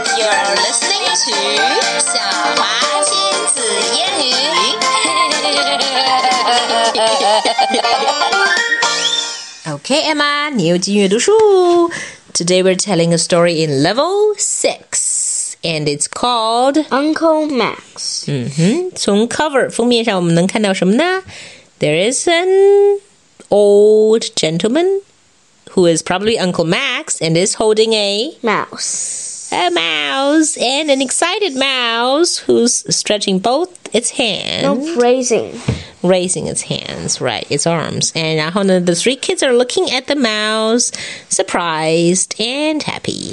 You're listening to 小华亲子英语。Okay, Emma, 你又进阅读书。Today we're telling a story in level 6, and it's called Uncle Max. 从 cover 封面上我们能看到什么呢？ There is an old gentleman who is probably Uncle Max and is holding a mouse and an excited mouse who's stretching both its hands. No, raising its hands, right, its arms. And 然后呢 the three kids are looking at the mouse, surprised and happy.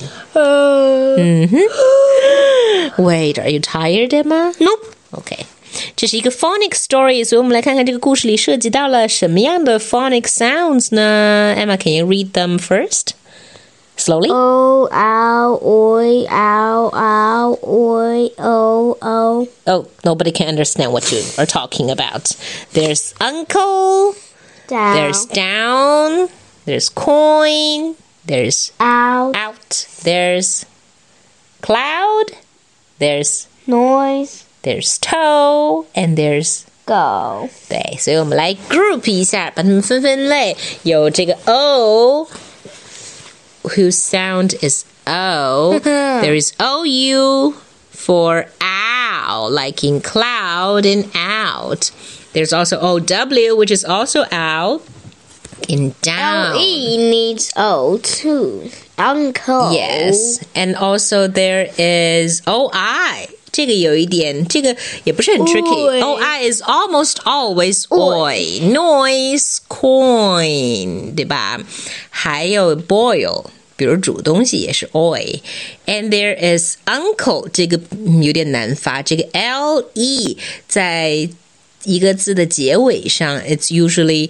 Wait, are you tired, Emma? Nope. Okay. 这是一个 phonic story, 所以我们来看看这个故事里涉及到了什么样的 phonic sounds 呢？ Emma, can you read them first? Slowly? O, ow, oi, ow, ow, oi, o, o. Oh, nobody can understand what you are talking about. There's uncle, Down. there's down, there's coin, there's Out. out, there's cloud, there's Noise. there's toe, and there's Go. 对，所以我们来 group 一下，把它们分分类。有这个 O, whose sound is O. There is OU for owl, like in cloud and out. There's also OW, which is also owl, in down. LE needs O too. Uncle. Yes, and also there is OI. 这个有一点，这个也不是很 tricky. OI is almost always oi. Noise, coin, 对吧？还有 boil, 比如煮东西也是 oi. And there is uncle, 这个有点难发，这个 LE 在一个字的结尾上 it's usually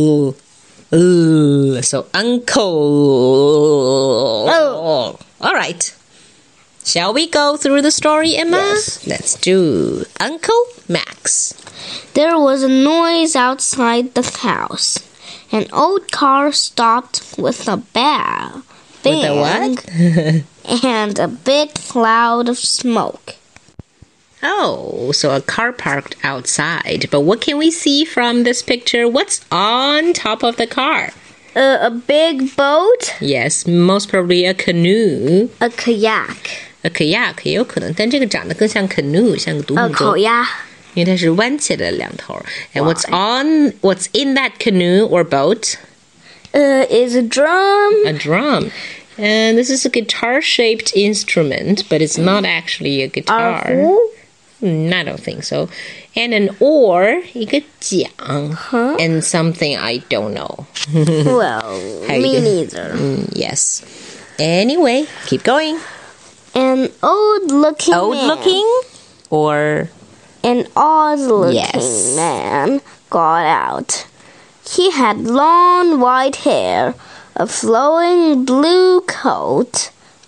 so uncle. Oh. All right. Shall we go through the story, Emma? Yes. Let's do Uncle Max. There was a noise outside the house. An old car stopped with a bang. With a what? And a big cloud of smoke. Oh, so a car parked outside. But what can we see from this picture? What's on top of the car? A big boat. Yes, most probably a canoe. A kayak. A kayak 也有可能，但这个长得更像 canoe, 像个独木舟。 烤鸭。 因为它是弯起来的两头。And what's in that canoe or boat? Is a drum. A drum. And this is a guitar-shaped instrument, but it's not actually a guitar. I don't think so. And an oar, 一个桨 and something I don't know. Well, me neither. Yes. Anyway, keep going. An old-looking or an odd-looking Yes. man got out. He had long white hair, a flowing blue cloak,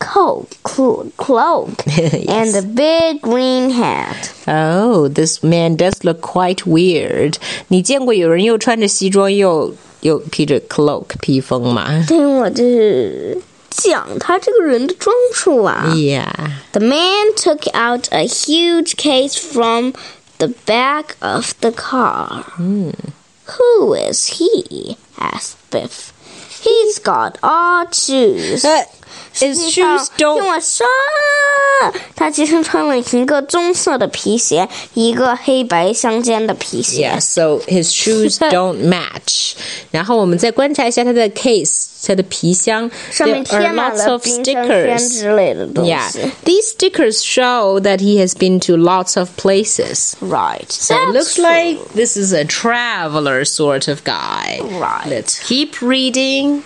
Yes. and a big green hat. Oh, this man does look quite weird. 你见过有人又穿着西装又披着 cloak 披风吗？ 对，我就是讲他这个人的装束啊。 Yeah. The man took out a huge case from the back of the car. Who is he? Asked Biff. He's got odd shoes. His shoes 听 don't... 我说，他其实穿了一个棕色的皮鞋，一个黑白相间的皮鞋。 Yeah, so his shoes don't match. 然后我们再观察一下他的 case, 他的皮箱。 上面 There 贴 are 满 lots 了 of 冰箱 stickers. 圈之类的东西。 Yeah, these stickers show that he has been to lots of places. Right. So it looks like this is a traveler sort of guy. Right. Let's keep reading.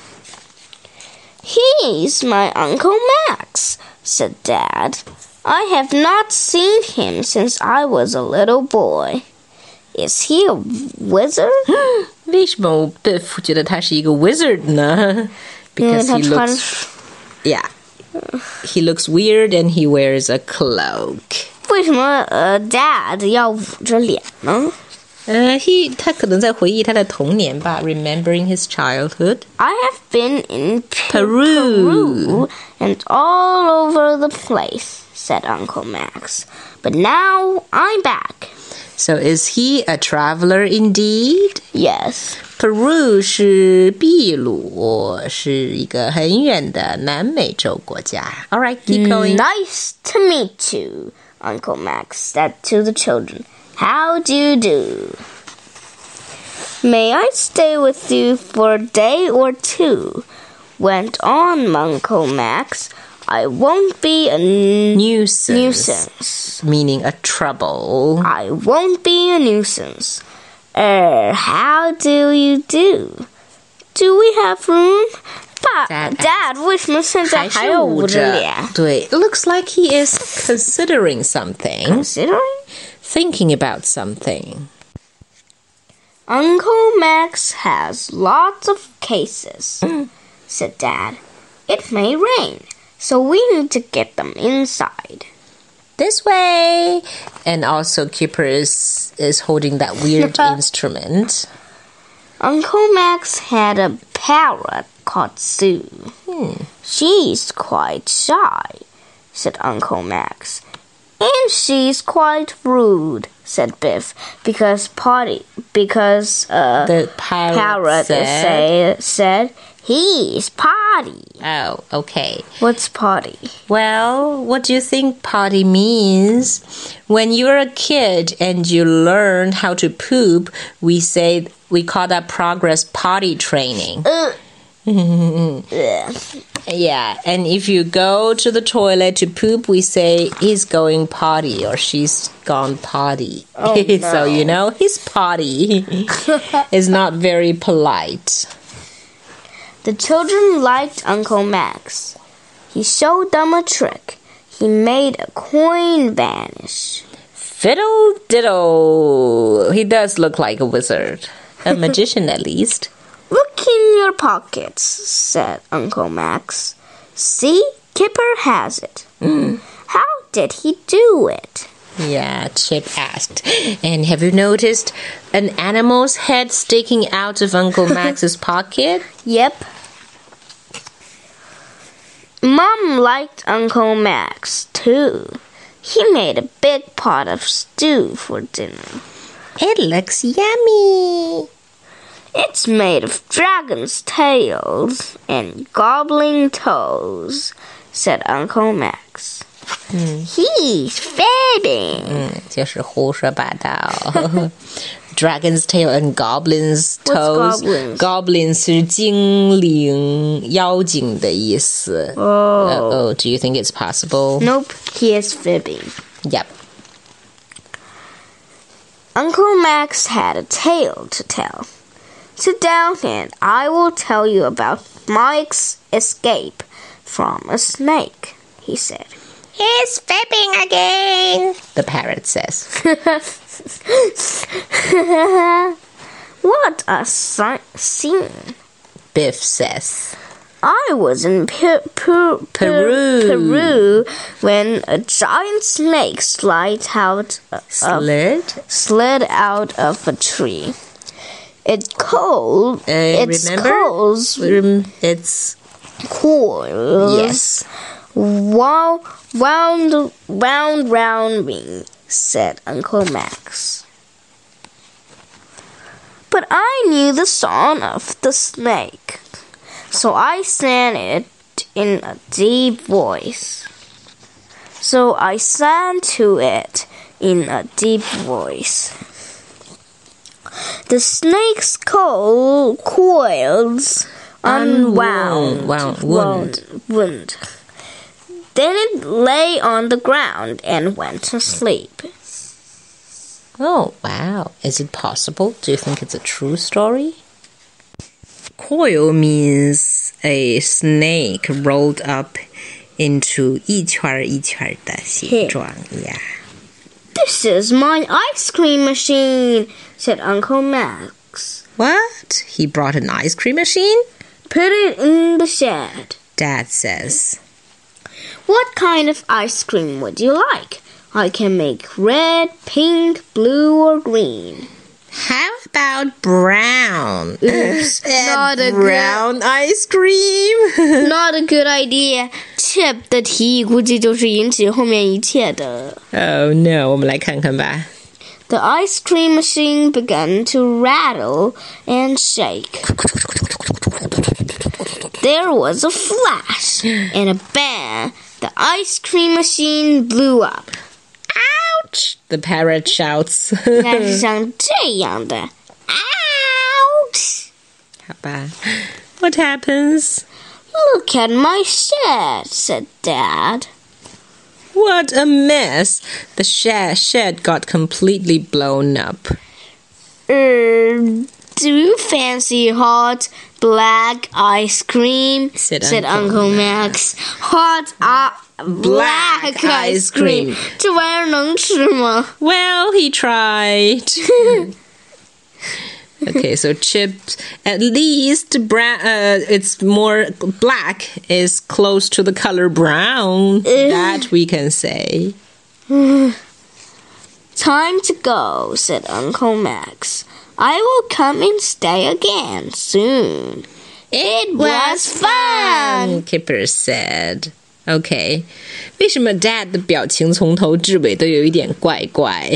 He's my Uncle Max, said Dad. I have not seen him since I was a little boy. Is he a wizard? 为什么Biff觉得他是一个 wizard 呢？ Because he looks... Yeah. He looks weird and he wears a cloak. 为什么Dad 要捂着脸呢？ 他可能在回忆他的童年吧 ，remembering his childhood. I have been in Peru and all over the place, said Uncle Max. But now I'm back. So is he a traveler indeed? Yes. Peru 是秘鲁，是一个很远的南美洲国家。All right, keep going. Nice to meet you, Uncle Max said to the children. How do you do? May I stay with you for a day or two? Went on Uncle Max. I won't be a nuisance. Meaning a trouble. I won't be a nuisance. How do you do? Do we have room? Dad, 为什么现在还有捂着脸？ 对 it looks like he is considering something. Considering? Thinking about something. Uncle Max has lots of cases, said Dad. It may rain, so we need to get them inside. This way. And also Kipper is holding that weird instrument. Uncle Max had a parrot called Sue. She's quite shy, said Uncle Max. And she's quite rude, said Biff, because the parrot said he's potty. Oh, okay. What's potty? Well, what do you think potty means? When you're a kid and you learn how to poop, we call that progress potty training. Yeah, and if you go to the toilet to poop, we say he's going potty or she's gone potty. Oh, no. So you know, his potty is not very polite. The children liked Uncle Max. He showed them a trick. He made a coin vanish. Fiddle diddle. He does look like a wizard. A magician at least. Look in your pockets, said Uncle Max. See, Kipper has it. How did he do it? Yeah, Chip asked. And have you noticed an animal's head sticking out of Uncle Max's pocket? Yep. Mom liked Uncle Max, too. He made a big pot of stew for dinner. It looks yummy. It's made of dragon's tails and goblin toes, said Uncle Max. He's fibbing. 就是胡说八道。Dragon's tail and goblin's toes. What's goblins? Goblins 是精灵、妖精的意思。Oh, do you think it's possible? Nope, he is fibbing. Yep. Uncle Max had a tale to tell. Sit down and I will tell you about Mike's escape from a snake, he said. He's fibbing again, the parrot says. What a scene, Biff says. I was in Peru when a giant snake slid out of a tree. Its coils Yes. wound round me, said Uncle Max. But I knew the song of the snake, so I sang it in a deep voice. The snake's coils unwound. Then it lay on the ground and went to sleep. Oh, wow. Is it possible? Do you think it's a true story? Coil means a snake rolled up into 一圈一圈的形状. Yeah. This is my ice cream machine, said Uncle Max. What? He brought an ice cream machine? Put it in the shed, Dad says. What kind of ice cream would you like? I can make red, pink, blue, or green. How about brown? Oops, not a brown ice cream. Not a good idea. Chip 的提议估计就是引起后面一切的。 Oh no, 我们来看看吧。 The ice cream machine began to rattle and shake. There was a flash and a bang. The ice cream machine blew up. Ouch! The parrot shouts. 应该是像这样的 Ouch! 好吧。What happens? Look at my shed, said Dad. What a mess! The shed got completely blown up. Do you fancy hot black ice cream? Said Uncle Max. Hot black ice cream. 这玩意儿能吃吗？ Well, he tried. Okay, so Chip, at least brown, it's more black is close to the color brown. That we can say. Time to go, said Uncle Max. I will come and stay again soon. It was fun, Kipper said. Okay. 为什么 Dad 的表情从头至尾都有一点怪怪？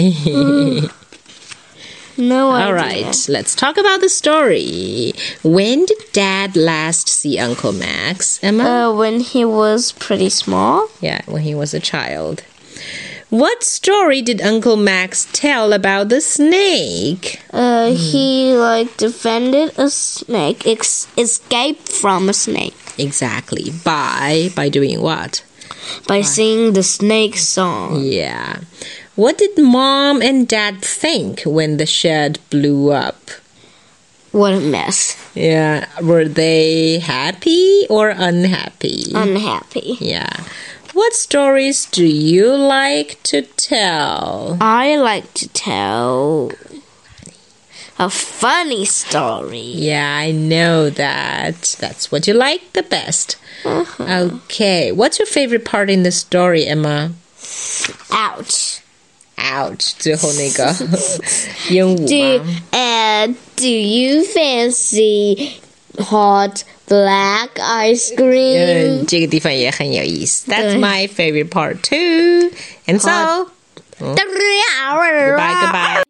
No idea. All right, let's talk about the story. When did Dad last see Uncle Max, Emma? When he was pretty small. Yeah, when he was a child. What story did Uncle Max tell about the snake? He defended a snake, escaped from a snake. Exactly. By doing what? By singing the snake song. Yeah. What did Mom and Dad think when the shed blew up? What a mess. Yeah. Were they happy or unhappy? Unhappy. Yeah. What stories do you like to tell? I like to tell a funny story. Yeah, I know that. That's what you like the best. Okay. What's your favorite part in the story, Emma? Ouch. Ouch. 最后那个鹦鹉吗？ Do you fancy hot black ice cream? 这个地方也很有意思。That's my favorite part too. And so, goodbye.